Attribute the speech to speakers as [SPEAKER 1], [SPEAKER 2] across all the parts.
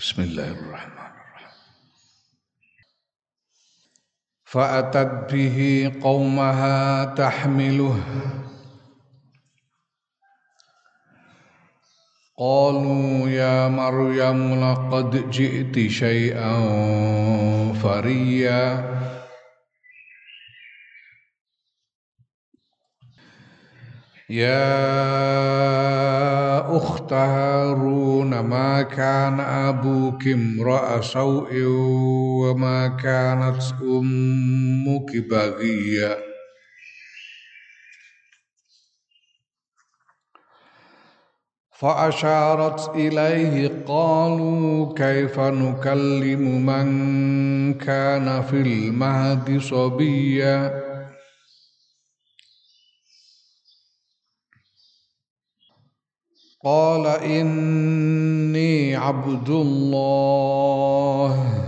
[SPEAKER 1] Bismillahirrahmanirrahim. Fa'atat bihi qaumaha tahmiluh. Qalu ya Maryam laqad ji'ti syai'an fariya. Ya ukhta Harun ma kana abuki imra'a saw'in wa ma kanat ummuki baghiya. فأشارت إليه قالوا كيف نكلم من كان في المهد صبيا قال إني عبد الله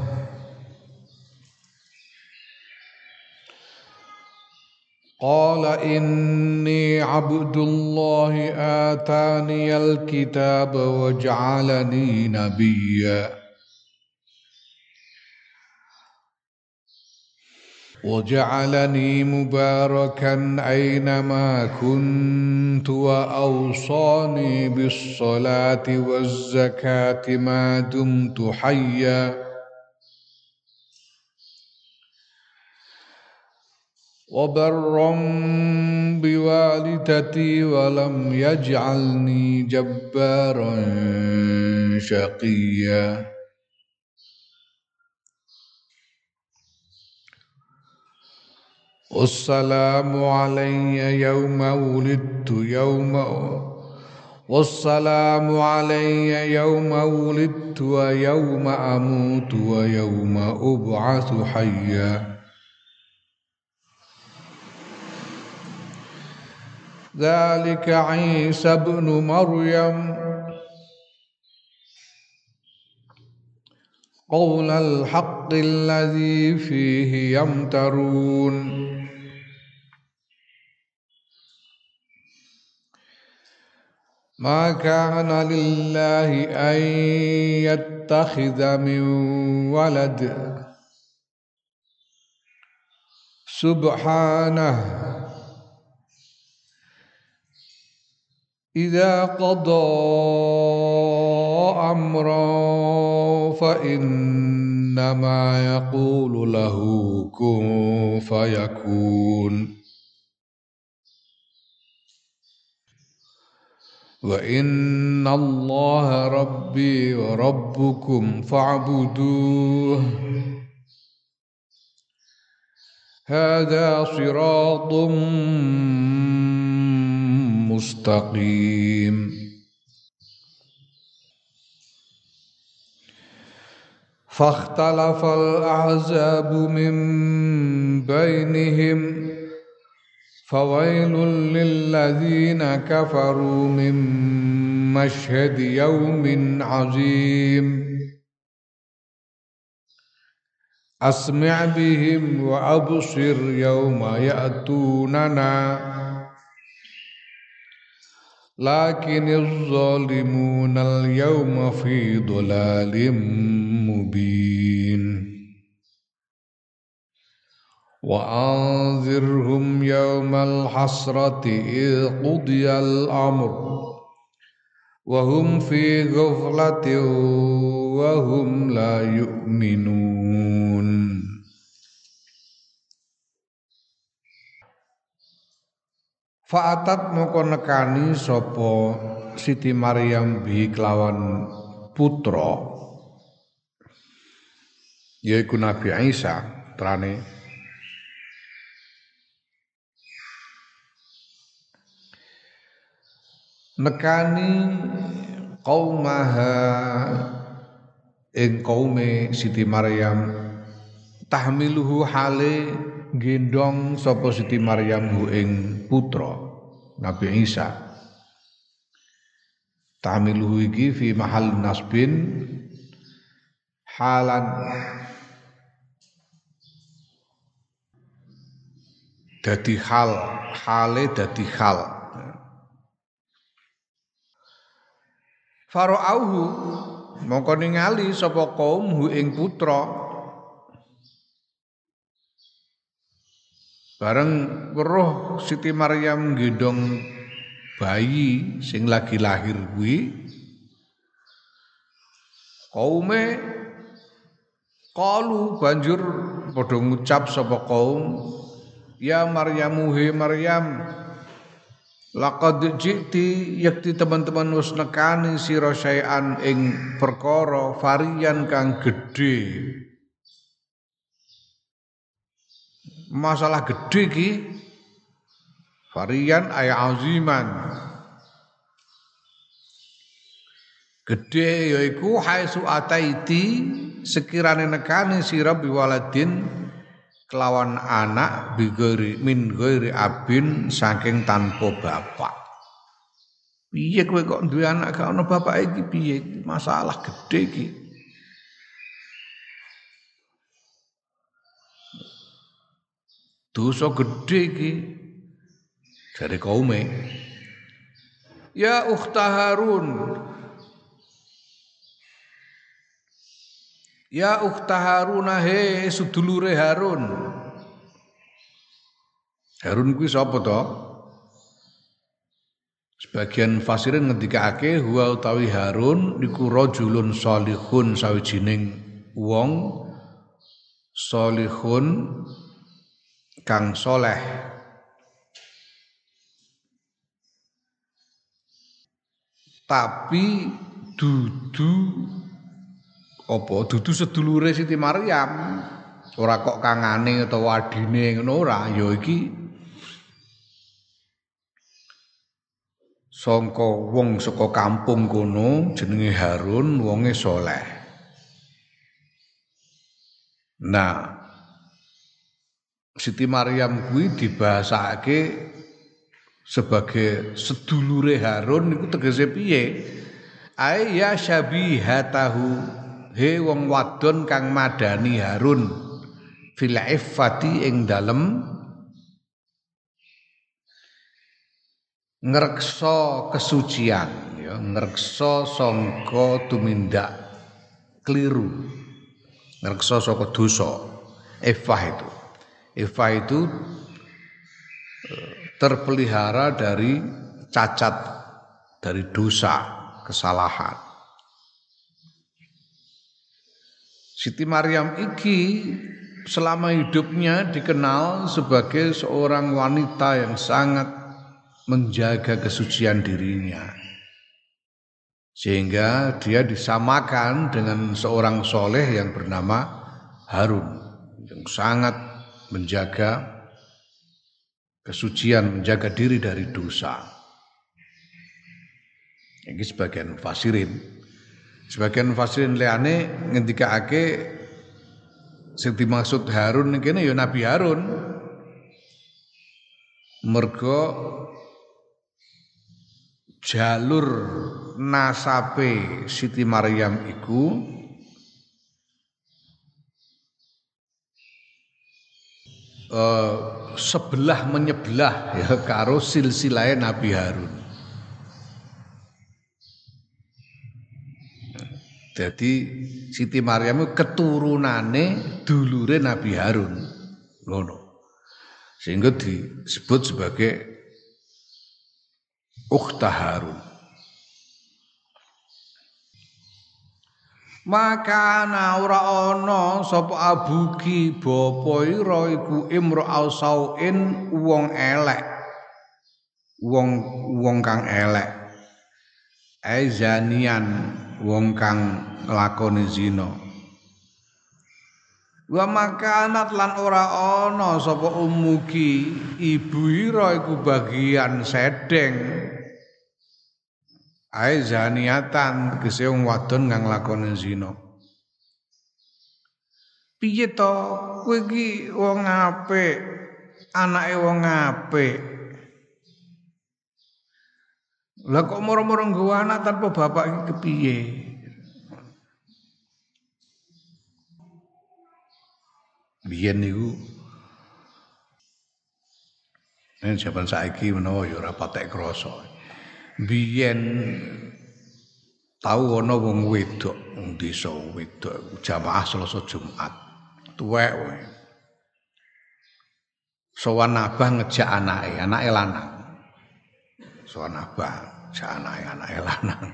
[SPEAKER 1] آتاني الكتاب وجعلني نبيا وجعلني مباركا أينما كنت وأوصاني بالصلاة والزكاة ما دمت حيا وبرا بوالدتي ولم يجعلني جبارا شقيا والسلام علي يوم ولدت ويوم أموت ويوم أبعث حيا ذلك عيسى ابن مريم قول الحق الذي فيه يمترون ما كان لله أن يتخذ من ولد سبحانه إذا قضى أمرا فإنما يقول له كن فيكون وإن الله ربي وربكم فاعبدوه هذا صراط مستقيم فاختلف الأحزاب من بينهم فويل للذين كفروا من مشهد يوم عظيم أسمع بهم وأبصر يوم يأتوننا لكن الظالمون اليوم في ضلال مبين وأنذرهم يوم الحسرة إذ قضي الأمر وهم في غفلة وهم لا يؤمنون. Fa'atat moko nekani sapa Siti Maryam bi kelawan putra yaiku Nabi Isa trane nekani qaumaha ing kaume Siti Maryam tahmiluhu hale gendong sapa Siti Maryam hu ing putra Nabi Isa. Tahmiluhu iki fi mahal nasbin halan dadi hale dadi hal. Fara'auhu mongko ningali sapa kaum hu ing putra. Bareng weruh Siti Maryam gendong bayi sing lagi lahir kuwi, kaume kalu banjur padha ngucap sapa kaum, ya Maryamu he Maryam, laqad ji'ti yakti teman-teman wis nekani sira syai'an ing perkara varian kang gedhe. Masalah gedhe iki varian ay aziman. Gedhe yaiku haitsu ataiti sekirane nekane sira biwaladin kelawan anak bigori min ghairi abin saking tanpa bapak. Piye kowe kok duwe anak gak ono bapake iki piye? Masalah gedhe iki. Dosa gedhe iki dari kaume. Ya ukhta Harun, ya ukhta Harun he sedulure Harun. Harun kuwi sapa to? Sebagian fasirin ngendikake huwa utawi Harun niku rajulun salihun sawijining wong salihun kang soleh. Tapi dudu sedulure Siti Maryam, ora kok kangane utawa adine ngono ora, ya iki sangka wong saka kampung kono jenenge Harun, wonge soleh. Nah, Siti Maryam kuwi dibahasake sebagai sedulure Harun niku tegese piye? Ai ya syabihatahu, he wong wadon kang madani Harun fil iffati ing dalem ngreksa kesucian, ya ngreksa sangka tumindak kliru, ngreksa saka dosa. Iffah itu terpelihara dari cacat, dari dosa, kesalahan. Siti Maryam iki selama hidupnya dikenal sebagai seorang wanita yang sangat menjaga kesucian dirinya. Sehingga dia disamakan dengan seorang soleh yang bernama Harun, yang sangat menjaga kesucian, menjaga diri dari dosa. Ini sebagian fasirin. Sebagian fasirin liyane ngendikake sing dimaksud Harun kene ya Nabi Harun. Mergo jalur nasabe Siti Maryam iku sebelah menyebelah ya karo silsilah Nabi Harun. Jadi Siti Maryam keturunane dulure Nabi Harun. Ngono. Sehingga disebut sebagai ukhta Harun. Maka ora ana sapa abuki bapa ira iku imra'au sauin wong elek. Wong kang elek. Aizanian wong kang nglakoni zina. Wa makanat lan ora ana sapa umuki ibu ira iku bagian sedeng. Ai zaniatan tegese wong wadon kang nglakoni zina. Piye to kowe iki wong apik, anake wong apik. Lah kok moro-moro nggawa anak tanpa bapak iki kepiye? Biyen niku jaman saiki menawa ya ora patek krasa. Biyen Tahu ana wong wedok wong desa wedok jamaah Selasa Jumat. Tuwek wae. Sowan abah ngejak anake lanang. Sowan abah ngejak anake lanang.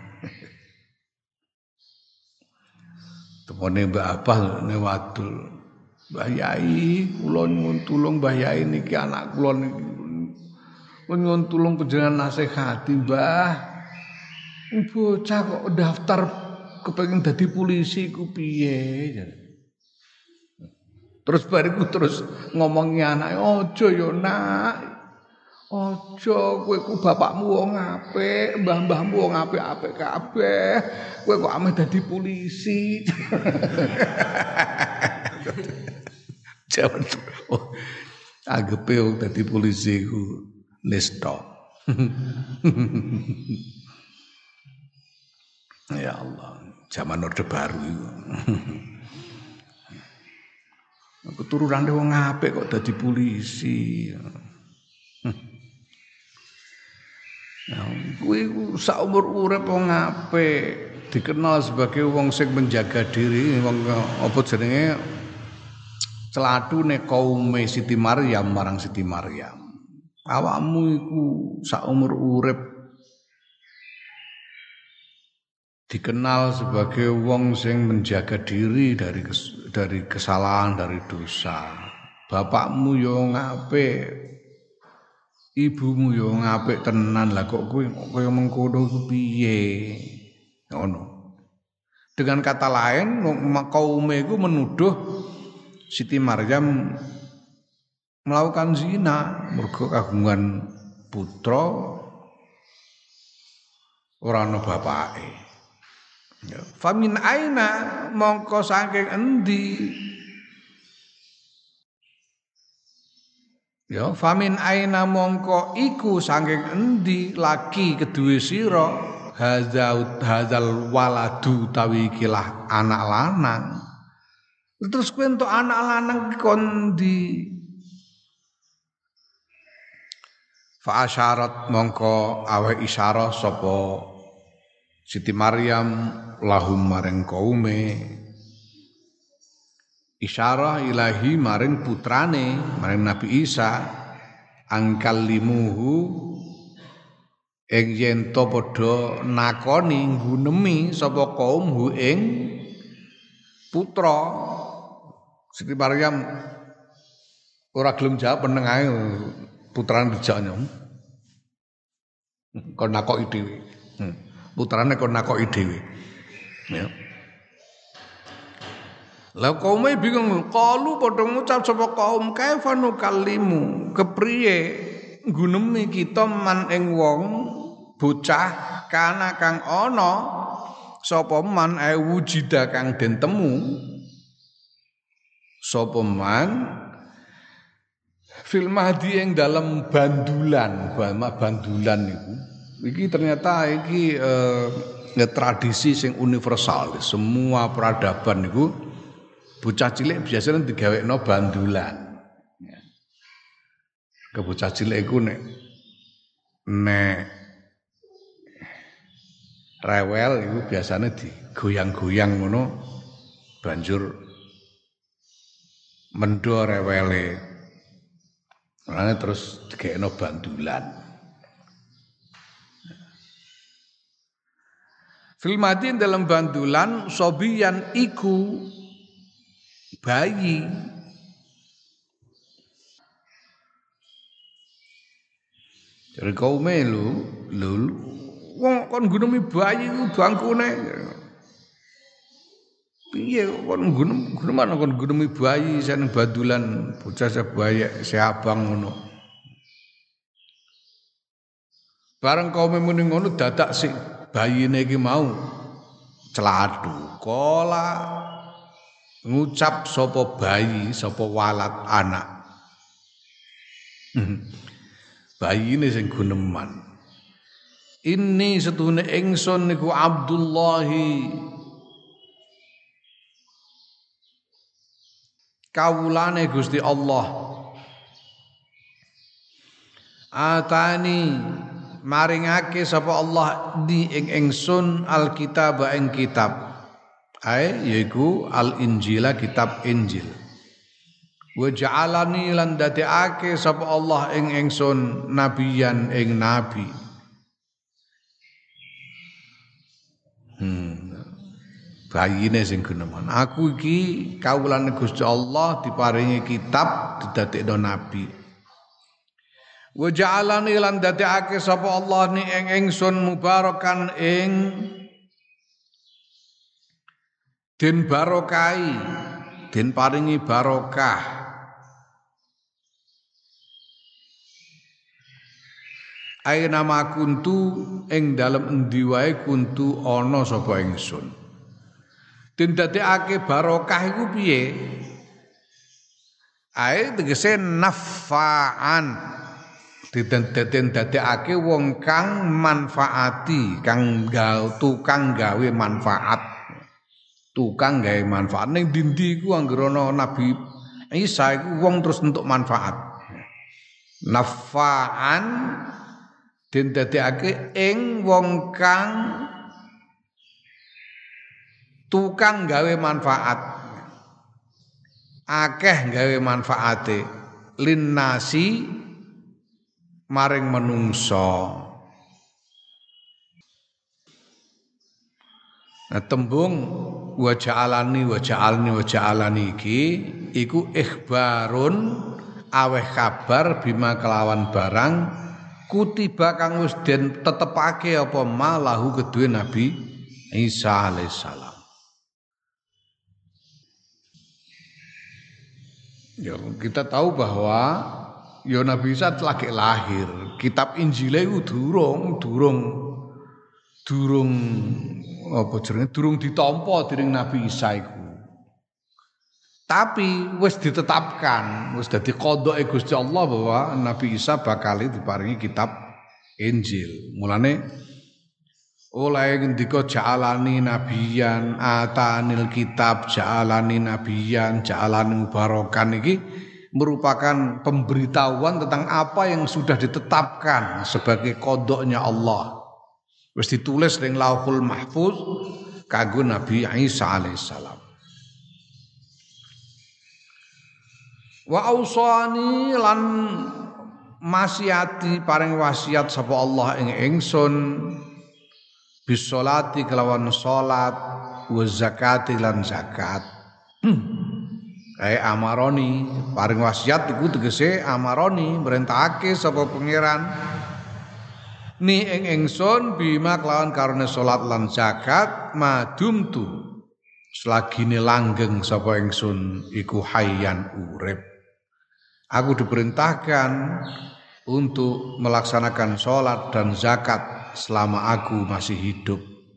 [SPEAKER 1] Temone Mbak Abah ne wadul. Mbah Yai, kula nyuwun tulung Mbah Yai niki anak kula niki. Kula nyuwun tulung panjenengan nasihati, Mbah. Bocah kok daftar kepengin dadi polisi ku piye? Terus bariku terus ngomongi anake, "Aja ya, Nak. Aja, kowe ku bapakmu wong apik, mbah-mbahmu wong apik-apik kabeh. Kowe kok ameh dadi polisi." Jaman anggepe wong dadi polisi ku nista. Ya Allah, zaman Orde Baru itu. Keturunane wong apik kok dadi polisi. Ya, kuwi saumur urip wong apik, dikenal sebagai wong sing menjaga diri, wong apa jenenge celatune kaume Siti Maryam marang Siti Maryam. Awakmu iku saumur urip dikenal sebagai wong sing menjaga diri dari kesalahan, dari dosa. Bapakmu yo ngapik, ibumu yo ngapik tenan, lah kok kowe kaya mengkono iku piye? Ngono. Dengan kata lain, kaume iku menuduh Siti Maryam melakukan zina mergo kagungan putra ora ana bapake. Ya, famin aina mongko saking endi? Ya, famin aina mongko iku saking endi laki kedue sira hazal waladu tawi kilah anak lanang. Terus kowe entuk anak lanang kondi. Fa asyarat mongko awe isyarah sapa Siti Maryam lahum maring kaume isyarah ilahi maring putrane maring Nabi Isa angkal limuhu ing yen to padha nakoni nggunemi sapa kaumhu ing putra. Siti Maryam ora gelem jawab meneng ae putrane dijaknya kon nakoki dhewe. Putrane kon nakoki dhewe. Ya. Lah kaume bingung, kalu padha ngucap sapa kaum kaifanu kalimu, kepriye nggunemi kita man ing wong bocah kana kang ana sapa man wujida kang den temu sapa man fil mahdi ing dalam bandulan niku. Iki ternyata iki tradisi sing universal. Semua peradaban niku bocah cilik biasanya digawekno bandulan. Ya. Ke bocah cilik iku nek rewel iku biasanya digoyang-goyang ngono banjur mendo rewele. Mulane terus digawekno bandulan. Filmadin dalam bandulan sobiyan iku bayi. Jadi kaume lu wong kon gunemi bayi ku bangkune. Piye kon guneman kon gunemi bayi sen bandulan bocah sebayak seabang ngono. Bareng kaume muni ngono dadak sik bayine iki mau celadu kala ngucap sapa bayi sapa walat anak bayine sing guneman ini setune ingsun niku Abdullahi kawulane Gusti Allah atani maringake sapa Allah di ing ingsun alkitab ing kitab yaiku al-injila kitab Injil wa ja'alani lan dadekake sapa Allah ing ingsun nabiyan ing nabi bayine sing guneman aku iki kawulane Gusti Allah diparingi kitab didadekno nabi wa ja'alani lan dadekake sapa Allah ni ing ingsun mubarakan ing den barokai den paringi barokah aina ma kuntu ing dalem endi wae kuntu ana sapa ingsun den dadekake barokah iku piye tegese nafa'an diten dadekake wong kang manfaati kang tukang gawe manfaat ning dindi iku anggere ana Nabi Isa iku wong terus entuk manfaat nafa'an den dadekake ing wong kang tukang gawe manfaat akeh gawe manfaate linnasi maring menungso. Nah, tembung wa ja'alani iki iku ikhbarun aweh kabar bima kelawan barang kutiba kang wis den tetepake apa malahu kedue Nabi Isa alaihissalam. Ya, kita tahu bahwa ya Nabi Isa lagi lahir. Kitab Injil itu durung ditampa dening Nabi Isa iku. Tapi wis ditetapkan, wis dadi qadhae Gusti Allah bahwa Nabi Isa bakal diparingi kitab Injil. Mulane oleh ngendika ja'alani nabiyan atanil kitab ja'alani nabiyan ja'alani mubarakan iki merupakan pemberitahuan tentang apa yang sudah ditetapkan sebagai qadha'nya Allah. Wis ditulis ning Lauhul Mahfuz kanggo Nabi Isa alaihissalam. Wa ausani lan masiati paring wasiat sapa Allah ing ingsun bisolati kelawan salat wa zakati lan zakat. Amaroni paring wasiat iku tegese amaroni merintahake sapa pangeran ni ing ingsun bima kelawan karone salat lan zakat madumtu selagine langgeng sapa ingsun iku hayyan urip. Aku diperintahkan untuk melaksanakan sholat dan zakat selama aku masih hidup.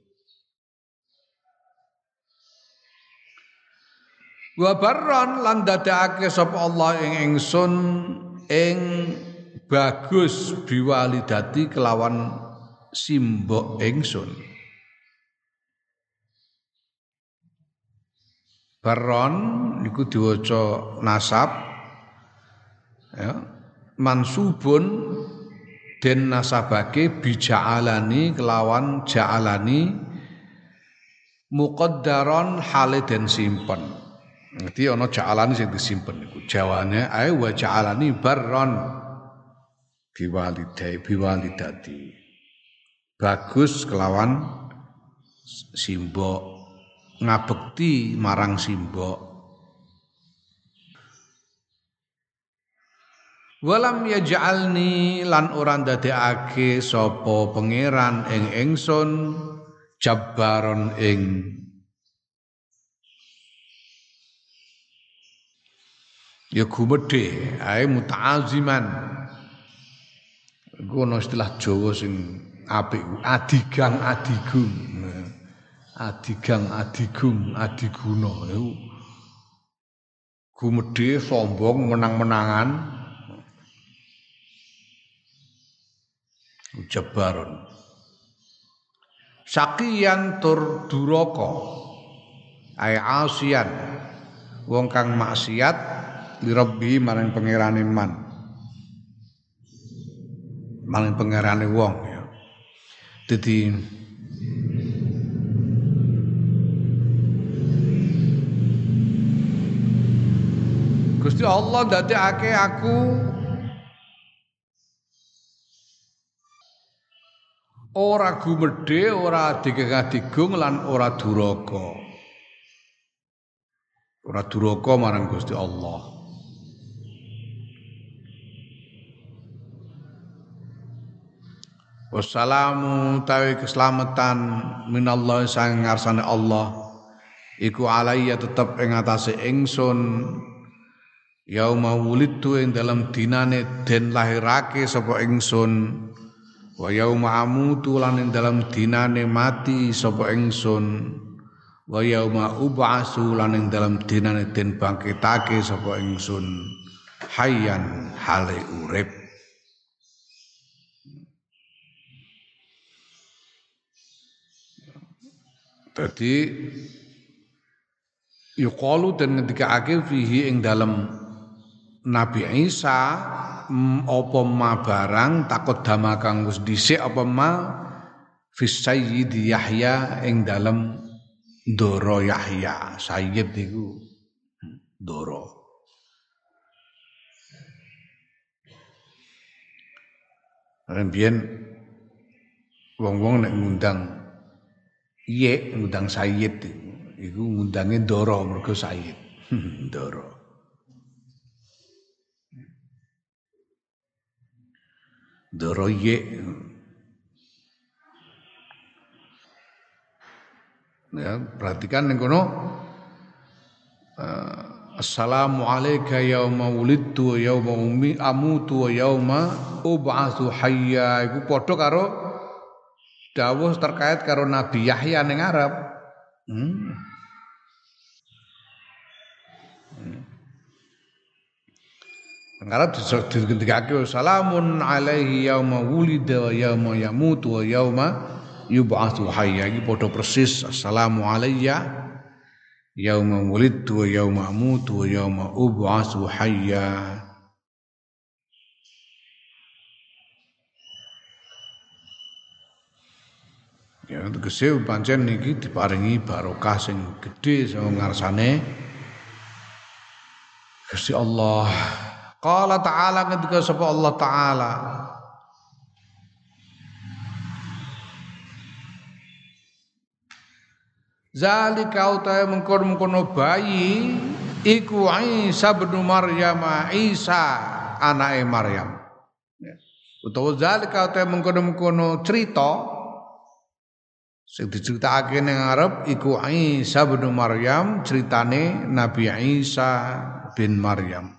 [SPEAKER 1] Wa barran lan dadekake sapa Allah ing ingsun ing bagus biwalidati kelawan simbok ingsun. Barron niku diwaca nasab ya, mansubun den nasabake bija'alani kelawan ja'alani muqaddaron hale den simpen. Dadi ana ja'alani sing disimpen niku jawane ae wa ja'alani barron biwalidati bagus kelawan simbok ngabekti marang simbok. Walam yaj'alni lan ora ndadekake sapa pangeran ing ingsun jabbaron ing ya gumedhe ae muta'aziman. Iku ana istilah Jawa sing apik adigang adigung. Adigang adigung adiguna iku gumedhe sombong menang-menangan. Jabbaron sakiyan tur duraka ay asian wong kang maksiat li rabbi marang pangerane man marang pangerane wong ya Dadi Gusti Allah ndadekake aku ora gumedhe, ora digegah-digung lan ora duraka. Ora duraka marang Gusti Allah. Wassalamu tawi keselamatan minallah sang ngarsane Allah iku alaiya tetep ing atase ingsun yauma wulidtu ing dalam dinane den lahirake sapa ingsun wa yauma amutu lan ing dalam dinane mati sapa ingsun wa yauma ub'atsu lan ing dalam dinane den bangkitake sapa ingsun hayyan hale urip. Dadi yuqalu dan ngendikake fihi ing dalam Nabi Isa apa ma barang takut dama kang wis dhisik apa ma fis sayyid Yahya ing dalam Ndara Yahya. Sayyid iku Ndara. Rembiyen wong-wong nek ngundang ngundang Sayyid iku ngundange Ndara mergo Sayyid. Ndara. Ndara ya, perhatikan ning kono assalamu alayka yauma wulidtu wa yauma ummi amutu wa yauma ub'atsu hayya iku padha karo dawuh terkait karo Nabi Yahya ning Arab. Arab digendikake salamun alaihi yauma wulida wa yauma yamutu wa yauma yub'atsu hayya iki padha persis assalamu alayya yauma wulidtu wa yauma amutu wa yauma ub'atsu hayya. Ya tegese pancen niki diparingi barokah sing gedhe sing ngarsane Gusti Allah. Qala ta'ala ketika sapa Allah Ta'ala zalika utahe mengkono-mengkono bayi iku Isa bin Maryam, Isa anake Maryam. Utawa zalika utahe mengkono-mengkono cerita sing diceritakake ning Arab iku Isa bin Maryam, ceritane Nabi Isa bin Maryam.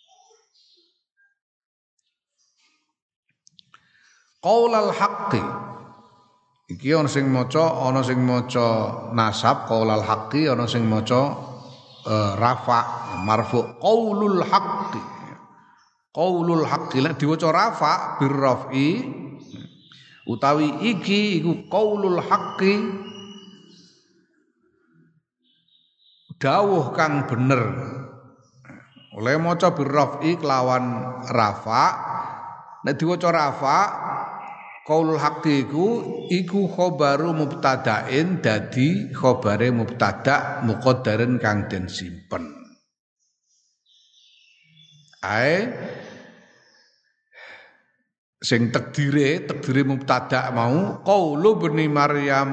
[SPEAKER 1] Qaulal haqqi iki ana sing maca nasab qaulal haqqi, ana sing maca rafa marfu qaulul haqqi. Qaulul haqqi lek diwaca rafa birrafi utawi iki iku qaulul haqqi dawuh kang bener. Oleh maca birrafi kelawan rafa nek diwaca rafa qaulul haqqi iku khobaru mubtada'in dadi khobare mubtada' muqaddarin kang den simpen. Ae sing takdire mubtada' mau qaulu bani Maryam.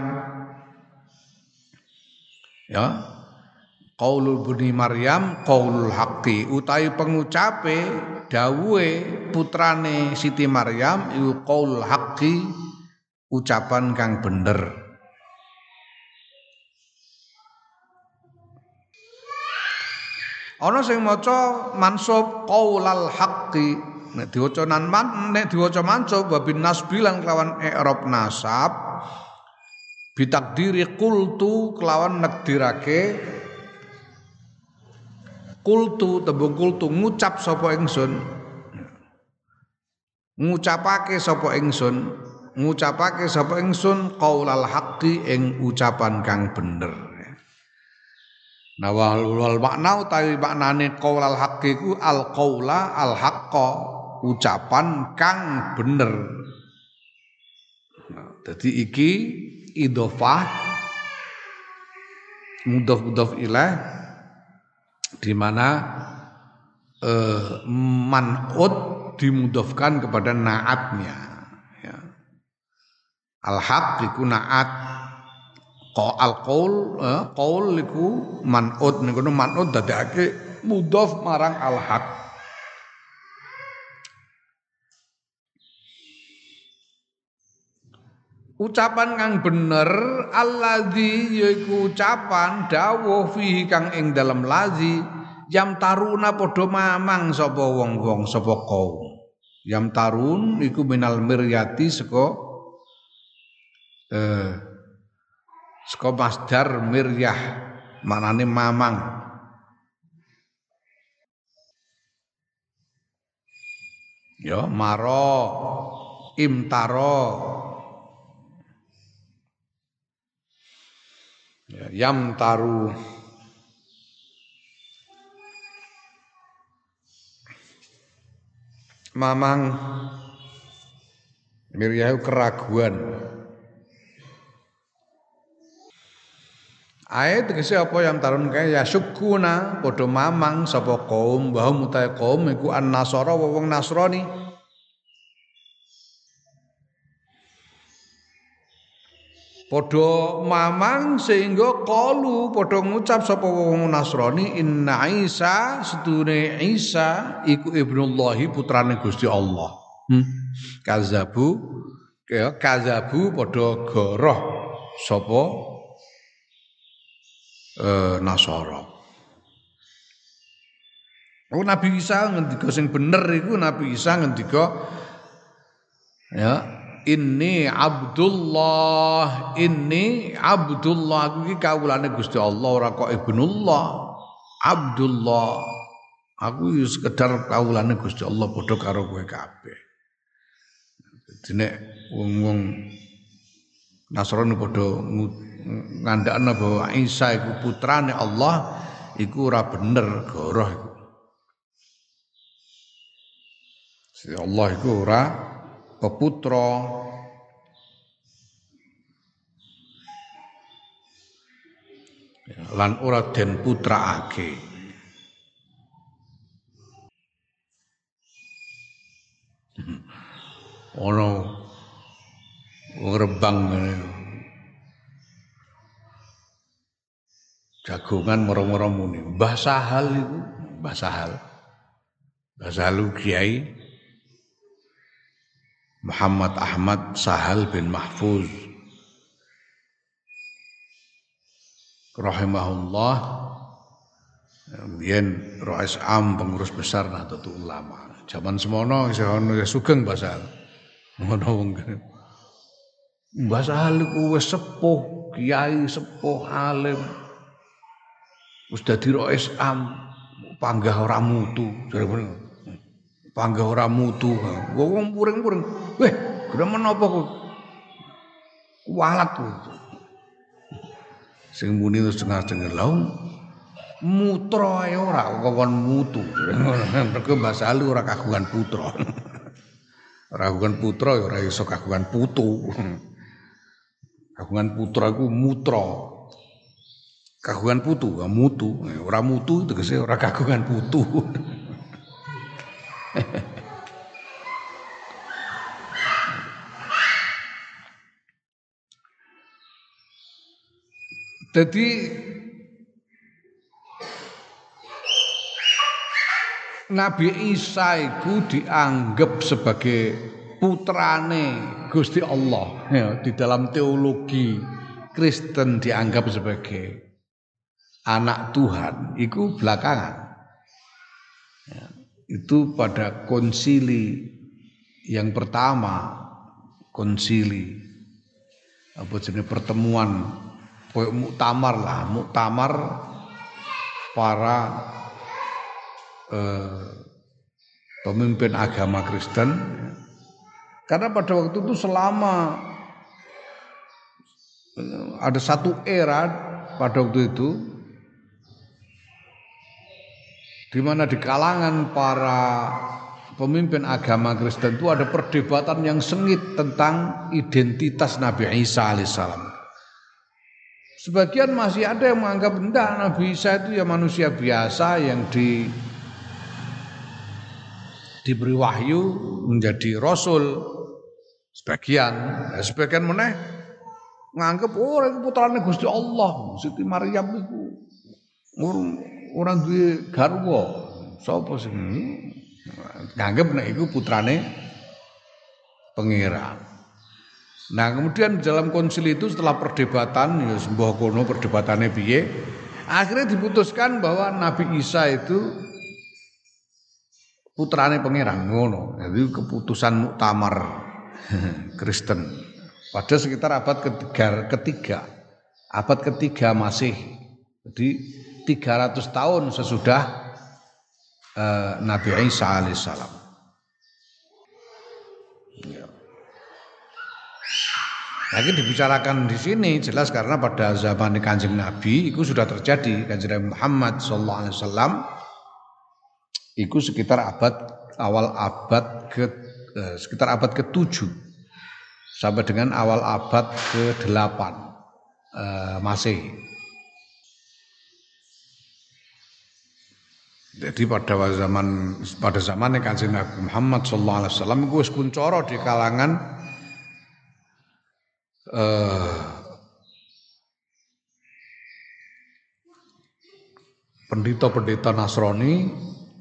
[SPEAKER 1] Ya. Qaulul bani Maryam qaulul haqqi utawi pengucape dawuhe putrane Siti Maryam iku qaulul haqqi ucapan kang bener. Ana sing maca mansub qaulal haqqi nek diwaca mansub wa bin nasbi lan kelawan i'rab nasab bitakdiri qultu kelawan nekdirake kultu tembung kultu ngucap sapa ingsun ngucapake sapa ingsun qaulal haqqi ing ucapan kang bener. Nah wal makna utawi maknane qaulal haqqi ku al qaula al haqqa ucapan kang bener. Dadi iki idhofah mudhof ilaih di mana man'ut dimudhofkan kepada naatnya ya. Al-haq iku naat qaul iku man'ut niku man'ut dadekake mudhof marang al-haq. Ucapan kang bener alladzi yaiku ucapan dawuh fihi kang ing dalem lazi yam taruna padha mamang sapa wong-wong sapa kaum. Yam tarun iku minal miryati saka masdar miryah maknane mamang. Ya maro imtaro ya, yam taru mamang miryahu keraguan. Ayat tegese apa yang tarun kae ya syukuna padha mamang sapa kaum bahwa mutahe kaum iku an-nasara wong Nasrani. Padha mamang sehingga qalu padha ngucap sapa wong Nasrani inna Isa sedune Isa iku ibnullahi putrane Gusti Allah. Kazabu padha goroh sapa Nasara. Nabi Isa ngendika sing bener iku Nabi Isa ngendika ya inni Abdullah aku iki kawulane Gusti Allah ora kok ibnullah Abdullah aku ya sekedar kawulane Gusti Allah padha karo kowe kabeh. Dadi nek wong-wong Nasrani padha ngandhakna bahwa Isa iku putrane Allah iku ora bener goroh iku. Allah iku ora peputra lan ora den putraake. Ono Rembang jagongan moro-moro muni Mbah Sahal iku Mbah Sahal Kiai Muhammad Ahmad Sahal bin Mahfuz rahimahullah yen Rais Am pengurus besar Nahdlatul Ulama zaman semono isih ana sugeng Mbah Sahal ngono wong Mbah Sahal iku wis sepuh kiai sepuh alim wis dadi Rais Am panggah ora mutu jare panggah ora mutu wong puring-puring weh grem menapa kok kualat sing muni terus dengar-dengar lha mutra ae ora kok mutu mergo Mbah Sahal ora kagungan putra ora kagungan putra ya ora iso kagungan putu kagungan putra iku mutra kagungan putu mutu ora mutu tegese ora kagungan putu. Jadi Nabi Isa itu dianggap sebagai putrane Gusti Allah ya, di dalam teologi Kristen dianggap sebagai anak Tuhan itu belakangan ya, itu pada konsili yang pertama konsili apa jenis pertemuan muktamar para pemimpin agama Kristen karena pada waktu itu selama ada satu era pada waktu itu di mana di kalangan para pemimpin agama Kristen itu ada perdebatan yang sengit tentang identitas Nabi Isa alaihissalam. Sebagian masih ada yang menganggap enggak, Nabi Isa itu ya manusia biasa yang diberi wahyu menjadi rasul. Sebagian meneh nganggep itu putrane Gusti Allah, Siti Maryam itu orang duwe garwa. Sapa sing nganggep nek iku putrane pangeran. Nah kemudian dalam konsili itu setelah perdebatan, ya sembah kono perdebatannya piye, akhirnya diputuskan bahwa Nabi Isa itu putrane pangeran ngono. Jadi keputusan muktamar Kristen pada sekitar abad ketiga, abad ketiga Masehi. Jadi 300 tahun sesudah Nabi Isa alaihissalam. Ya. Lagi dibicarakan di sini jelas karena pada zaman Kanjeng Nabi itu sudah terjadi. Kanjeng Nabi Muhammad sallallahu alaihi wasallam itu sekitar sekitar abad ke-7 sampai dengan awal abad ke-8 Masehi. Jadi pada zaman Kanjeng Nabi Muhammad sallallahu alaihi wasallam itu wis kuncoro di kalangan pendeta-pendeta Nasrani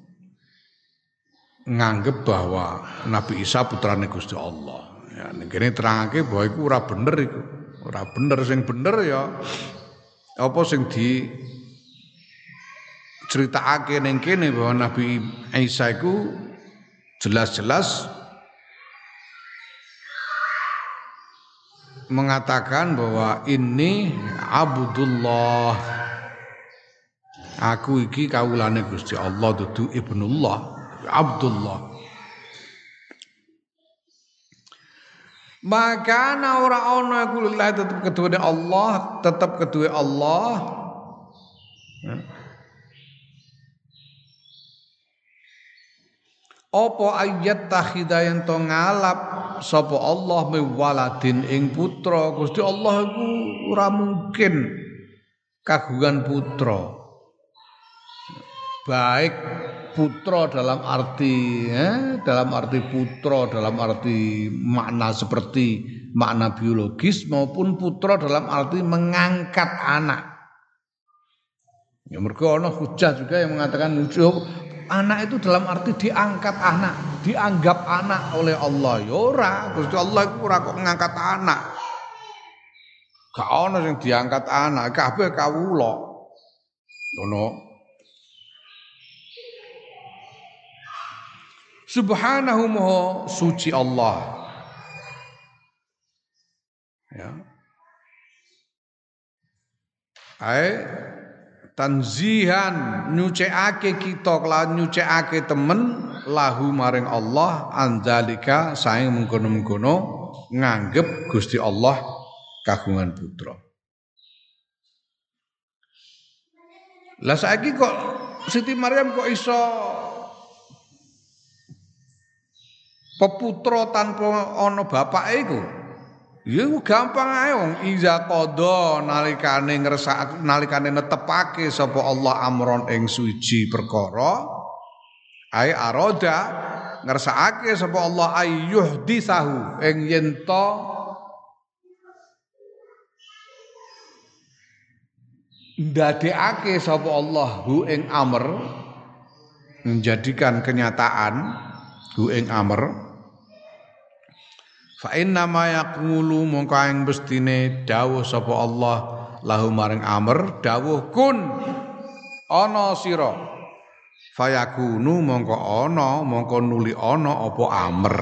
[SPEAKER 1] nganggep bahwa Nabi Isa putrane Gusti Allah. Ya ning kene terangake bahwa iku ora bener iku. Ora bener, sing bener ya apa sing di critakake ning kene bahwa Nabi Isa iku jelas-jelas mengatakan bahwa ini Abdullah, aku iki kawulane Gusti Allah, dudu ibnullah, Abdullah. Maka ora ana iku lillahi tetep keduwe Allah, tetep keduwe Allah. Apa ayat takhidayan to ngalap sapa Allah miwaladin ing putra. Gusti Allah iku ora mungkin kagungan putra. Baik putra dalam arti putra dalam arti makna seperti makna biologis maupun putra dalam arti mengangkat anak. Ya mergo ana hujah juga yang mengatakan anak itu dalam arti diangkat anak, dianggap anak oleh Allah. Ya ora, Gusti Allah iku ora kok ngangkat anak. Gak ono sing diangkat anak, kabeh kawula. Ngono. Subhanahu maha suci Allah. Ya. Tanzihan nyucikake kita kelawan nyucikake temen lahu maring Allah andzalika saing mengkono-mengkono nganggep Gusti Allah kagungan putra. Lah saiki kok Siti Maryam kok iso peputra tanpa ana bapake iku? Ya gampang ae wong iza qada nalikane nalikane netepake sapa Allah amron ing suci perkara ai aroda ngersakake sapa Allah ayyuh disahu ing yen to ndadekake sapa Allah hu ing amr menjadikan kenyataan hu ing amr. Fa inna ma yaqulu mongko ing bestine dawuh sapa Allah lahu maring amr dawuh kun ana sira fayakunu mongko nuli ana apa amr.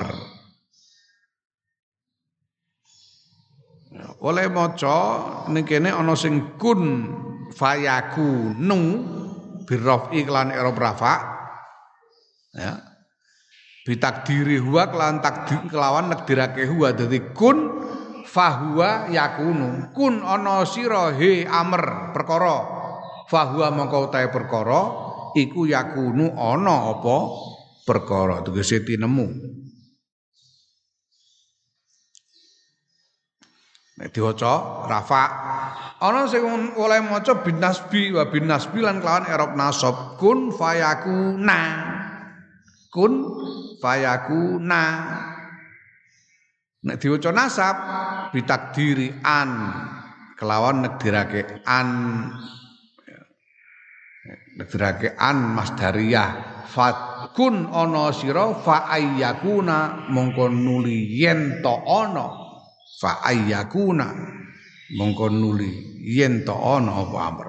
[SPEAKER 1] Oleh maca ning kene ana sing kun fayakunu birrafi lan i'rab rafa ya bitakdiri huwa kelan takdir kelawan nakdirake huwa dadi kun fahuwa yakunu kun ana sira he amr perkara fahuwa mongko utahe perkara iku yakunu ana apa perkara tegese tinemu. Nek diwaca rafa ana sing oleh maca bin nasbi wa bin nasbi lan kelawan i'rab nasab kun fayakuna. Kun fayakuna. Nek diwaca nasab bitakdiri an kelawan negdirake an masdariyah fatkun ana sira fa ayyakuna mongko nuli yen to ana fa ayyakuna mongko nuli yen to ana apa amr.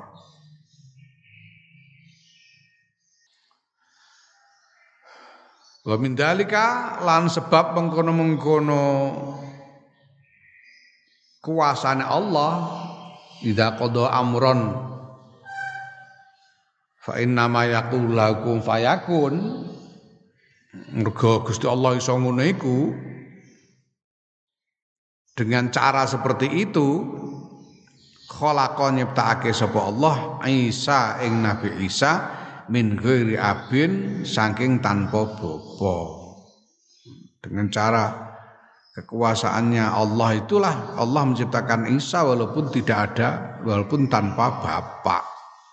[SPEAKER 1] Wa min dalika lan sebab mengkono-mengkono kuasane Allah idza qada amron fa inna ma yaqulu lakum fayakun. Mergo Gusti Allah iso ngono iku dengan cara seperti itu khalaqa nyiptakake sapa Allah Isa ing Nabi Isa min ghairi abin saking tanpa bapa. Dengan cara kekuasaannya Allah itulah Allah menciptakan Isa walaupun tanpa bapak.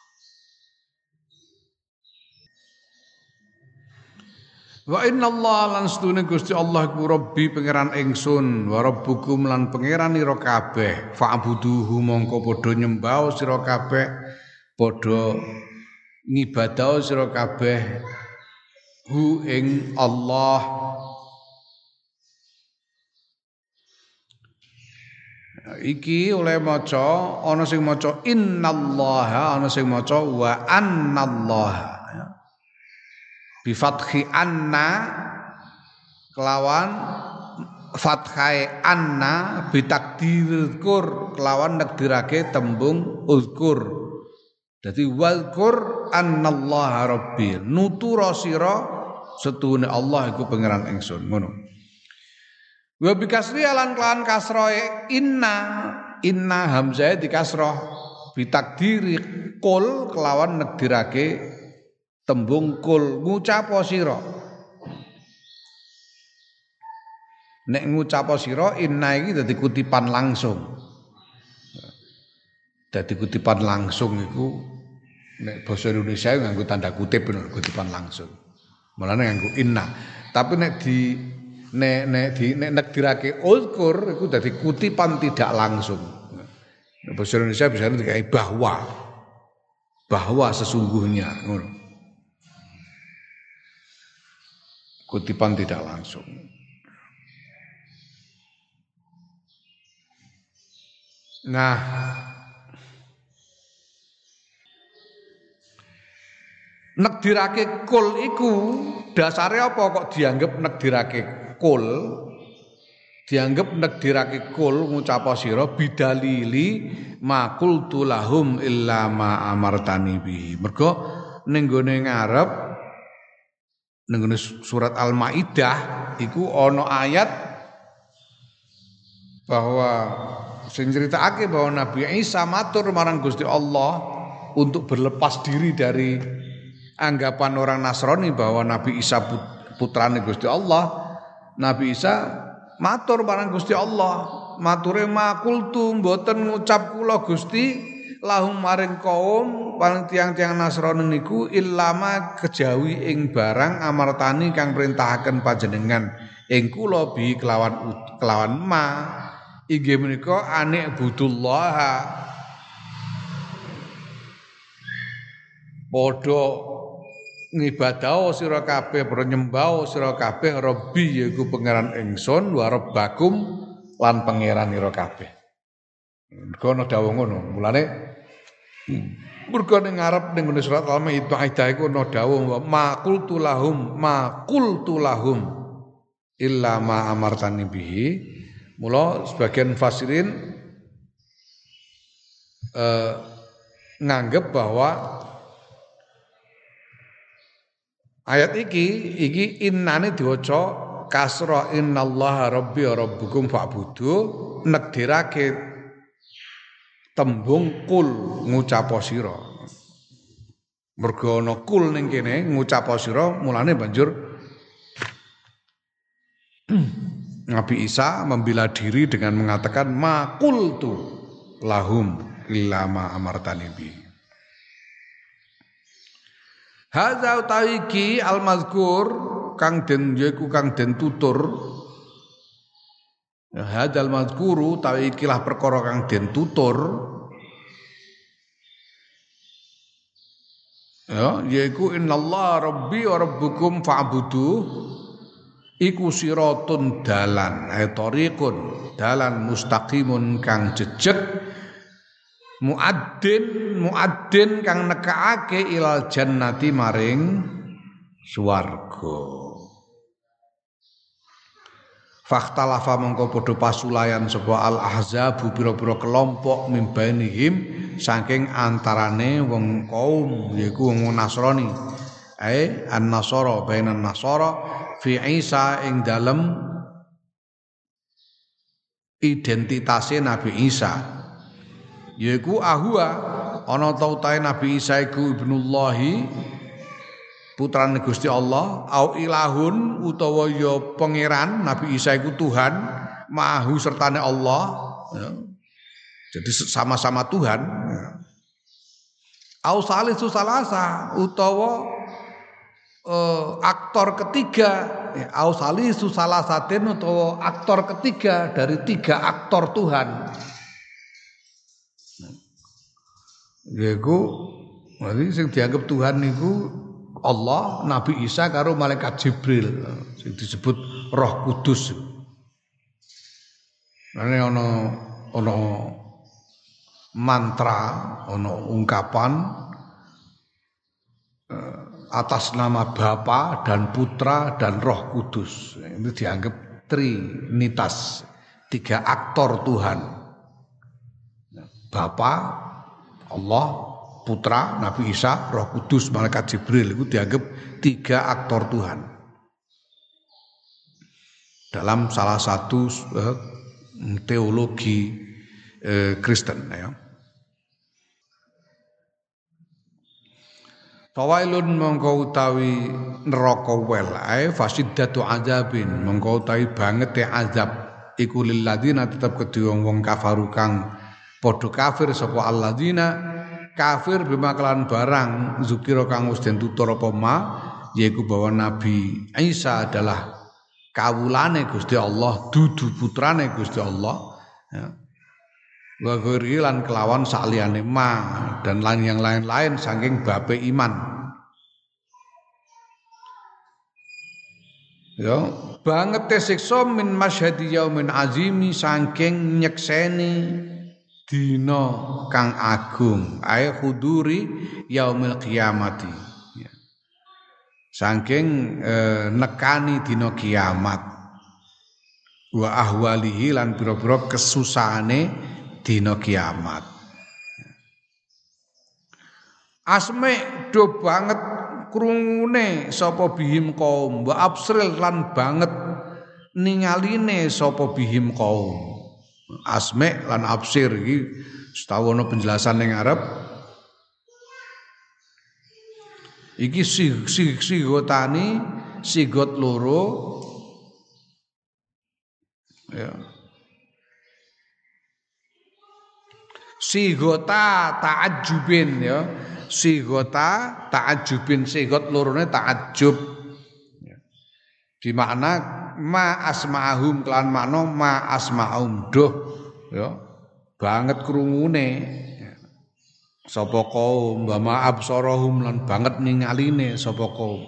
[SPEAKER 1] Wa inna Allah lan sedune Gusti Allah iku Rabbi pangeran ingsun wa rabbukum lan pangeran ira kabeh fa'buduhu mongko padha nyembah sira kabeh padha ngibadah sira kabeh hu ing Allah. Iki oleh maca ana sing maca innallaha ana sing maca wa annallaha bi fathi anna kelawan fathai anna bi takdirkur kelawan nekdirake tembung uzkur. Dadi walkur annallaha rabbi nutura sira setune Allah iku pangeran ingsun ngono. Wa bi kasri lan kelawan kasroe inna hamzah di kasroh bi takdiri kul kelawan nekdirake tembung kul ngucap sira. Nek ngucap sira inna iki dadi kutipan langsung. Dadi kutipan langsung iku nek basa Indonesia nganggo tanda kutip bener kutipan langsung. Mulane nganggo inna. Tapi nek nekdirake uzkur iku dadi kutipan tidak langsung. Nek basa Indonesia bisa dikai bahwa sesungguhnya ngono. Kutipan tidak langsung. Nah, nekdirake kul iku dasare apa kok dianggap nekdirake kul? Dianggap nekdirake kul ngucap sira bidalili ma qultu lahum illa ma amartani bihi. Mergo ning gone ngarep ning surat Al-Maidah iku ana ayat bahwa sing critakake bahwa Nabi Isa matur marang Gusti Allah untuk berlepas diri dari anggapan orang Nasrani bahwa Nabi Isa putrane Gusti Allah. Nabi Isa matur marang Gusti Allah, mature makultu mboten ngucap kula Gusti lahum maring kaum paling tiang-tiang Nasrani niku illama kejawi ing barang amartani kang perintahaken panjenengan ing kula bi kelawan ma inggih menika anik budullah padha ngibadah sira kabeh nyembah sira kabeh Rabbi yaiku pangeran ingsun wa rabbakum lan pangeran ira kabeh. Mergo ana dawuh ngono. Mulane mergo ning ngarep ning surat Al-Maidah iku ana dawuh ma qultu lahum illa ma amartani bihi. Mula sebagian fasirin nganggep bahwa ayat iki innane diwaca kasra innallaha rabbi wa rabbukum fa'budu nekdirake tembung kul ngucap sira. Mergo ana kul ning kene ngucap sira mulane banjur Nabi Isa membela diri dengan mengatakan ma qultu lahum illa ma amartani bi. Hadza utaiki al-mazkur kang den yaiku kang den tutur. Hadzal mazkuru tawikilah perkara kang den tutur. Ya, yaiku innallaha rabbi wa rabbukum fa'budu iku siratun dalan tariqun dalan mustaqimun kang jejeg muaddin kang nekaake ilal jannati maring swarga. Fakhtalafa mongko padha pasulayan sapa al ahzabu pira-pira kelompok mimbainihim saking antarane wong kaum yaiku wong Nasrani an-nasara bainan nasara fi Isa ing dalem identitase Nabi Isa yaiku ahwa ana ta utahe Nabi Isa iku ibnullahi putrane Gusti Allah au ilahun utawa ya pangeran Nabi Isa iku Tuhan mahu sertane Allah ya. Jadi sama-sama Tuhan ya. Au salisu salasa utawa aktor ketiga ya. Au salisu salasatin utawa aktor ketiga dari tiga aktor Tuhan yaiku berarti sing dianggap Tuhan niku Allah, Nabi Isa karo malaikat Jibril sing disebut Roh Kudus. Ana mantra, ana ungkapan atas nama Bapa dan Putra dan Roh Kudus. Itu dianggap trinitas, tiga aktor Tuhan. Bapa, Allah, Putra, Nabi Isa, Roh Kudus, Malaikat Jibril itu dianggap tiga aktor Tuhan dalam salah satu teologi Kristen ya. Fawailun mongko utawi neraka wel ae fasiddatu azabin mongko utawi banget azab iku lil ladina tetep kedhe wong kafaru kang padha kafir sapa alladzina kafir bima kelan barang zukira kang wis den tutur apa ma yaiku bahwa Nabi Isa adalah kawulane Gusti Allah dudu putrane Gusti Allah ya. Wa lan kelawan saliyane ma dan lan yang lain-lain saking babe iman ya banget siksa min masyhadi yaumin azimi saking nyekseni dina kang agung ae huduri yaumil qiyamati ya. Saking nekani dina kiamat wa ahwalihi lan pira-pira kesusahane dina kiamat asme do banget krungune sapa bihim kaum wa absril lan banget ningaline sapa bihim kaum asme lan absir iki setahu ana penjelasan ning Arab iki sigotani sigot loro ya sigota ta'ajjubin ya sigota ta'ajjubin sigot lorone ta'ajjub ya. Di makna ma asma'ahum kelan makna ma asma'um doh ya banget krungune ya. Sapa kaum wa ma absarahum lan banget ningaline sapa kaum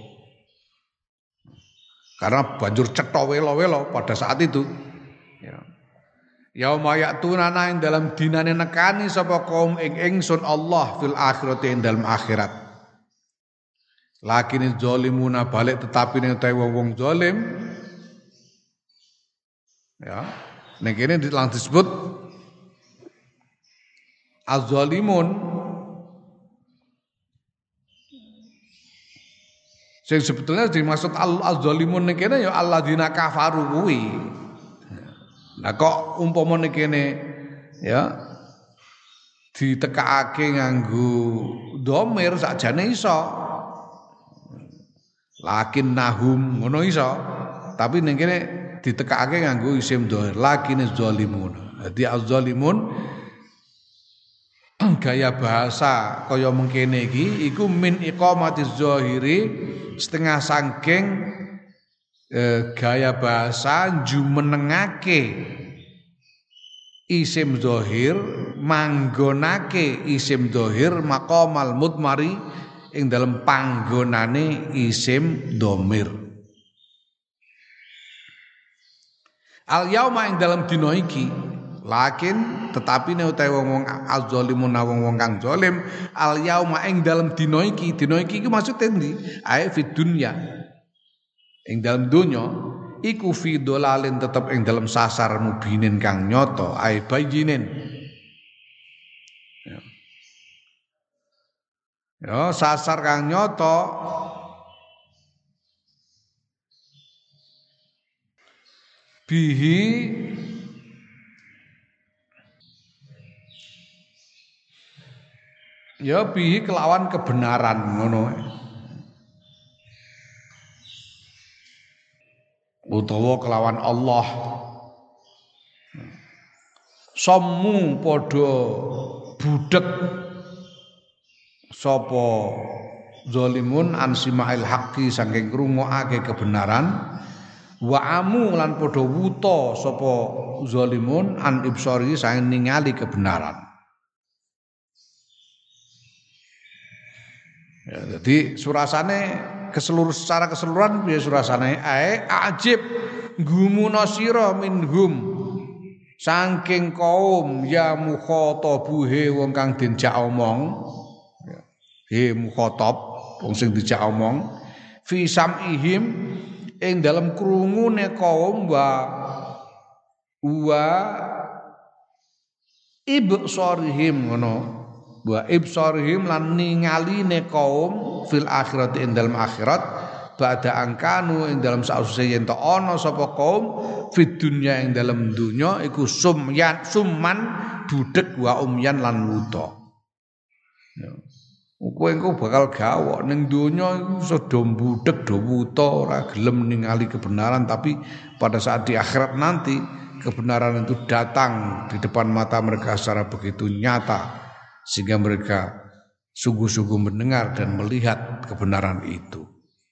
[SPEAKER 1] karena banjur cetha welo-welo pada saat itu ya yauma ya'tunana ing dalam dinane nekani sapa kaum ing ingsun Allah fil akhirati ing dalam akhirat lakine zalimuna balik tetapi ning wong zalim ya ning kene disebut az-zalimun sing sebetulnya dimaksud az-zalimun ning kene ya alladzina kafaru kuwi. Nah kok umpama ning kene ya ditekakake nganggo dhamir sakjane iso. Lakin nahum ngono iso. Tapi ning kene ditekake nganggo isim dhahir lakine zalimun. Dadi az-zalimun gaya bahasa kaya mengkene iki iku min iqamatiz zahiri setengah saking gaya bahasa jumenengake isim zahir manggonake isim zahir maqamal mudmari ing dalam panggonane isim dhamir. Al yauma ing dalam dina iki lakin tetapi nek utahe wong-wong az-zalimun wong-wong kang zalim al yauma ing dalam dina iki maksude ndi ae fid dunya ing dalam donya iku fi dolalin tetep ing dalam sasar mubinin kang nyata ae bayinin ya sasar kang nyata bihi ya bihi kelawan kebenaran ngono utawa kelawan Allah sommu padha budhek sapa zalimun an simail haqqi saking ngrungokake kebenaran wa amu lan padha wuta sapa zalimun an ibsari saking ningali kebenaran. Ya, jadi surasane secara keseluruhan piye surasane ae ajib gumuna sira minhum saking kaum ya mukhatabuhe wong kang dijak omong he mukhatab wong sing dijak omong fi sam'ihim ing dalam krungune kaum wa ibsarihim ngono wa ibsarihim lan ningaline kaum fil akhirat ing dalam akhirat ba'da angkanu ing dalam sausé yen ta ana sapa kaum fid dunya ing dalam dunya iku summan budhek wa umyan lan wuta ya kowe engko bakal gawok ning donya iku sedo budhek do wuta ora gelem ningali kebenaran tapi pada saat di akhirat nanti kebenaran itu datang di depan mata mereka secara begitu nyata sehingga mereka sungguh-sungguh mendengar dan melihat kebenaran itu.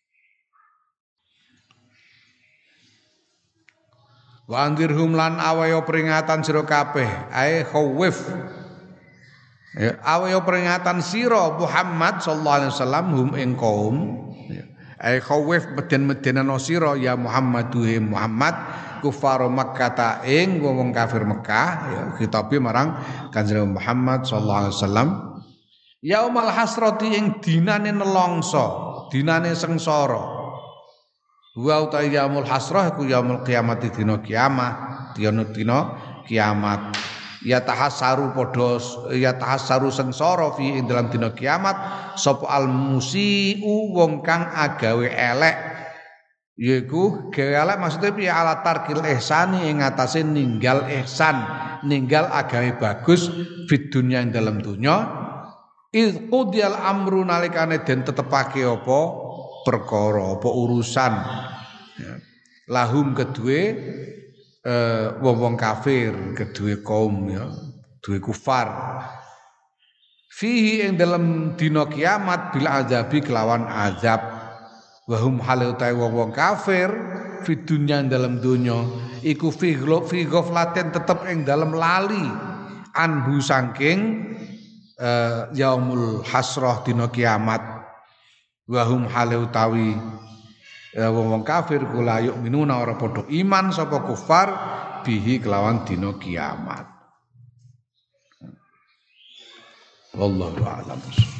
[SPEAKER 1] Wa andirhum lan awayo peringatan sira kabeh ae khawif ya awayo peringatan sira Muhammad sallallahu alaihi wasallam hum ing kaum ae khawif meden-medenana sira ya Muhammaduhe Muhammad kufar Makkah ing wong kafir Mekah ya khitabe marang Kanjeng Muhammad sallallahu alaihi wasallam yaumal hasrati ing dinane nelongso dinane sengsara wa uta yaumul hasrah iku yaumul kiamat dina kiamah dina kiamat ya tahassaru sengsara fi ing dalam dina kiamat sapa al musiu wong kang agawe elek yaiku gawe elek maksudnya piye ala tarkil ihsani ing atase ninggal ihsan ninggal agawe bagus fid dunya ing dalam dunya iz qudiyal amru nalikane den tetepake apa perkara apa urusan ya. Lahum kedue wong kafir kedue kaum ya kedue kufar fihi ing dalam dina kiamat bil azabi kelawan azab wahum hale utahe wong kafir fi dunya dalam dunya iku fi ghaflatin tetep ing dalam lali anhu saking yaumul hasrah dina kiamat wahum hale utawi wong kafir kula yuk minuna ora padha iman sapa kufar bihi kelawan dina kiamat wallahu a'lam.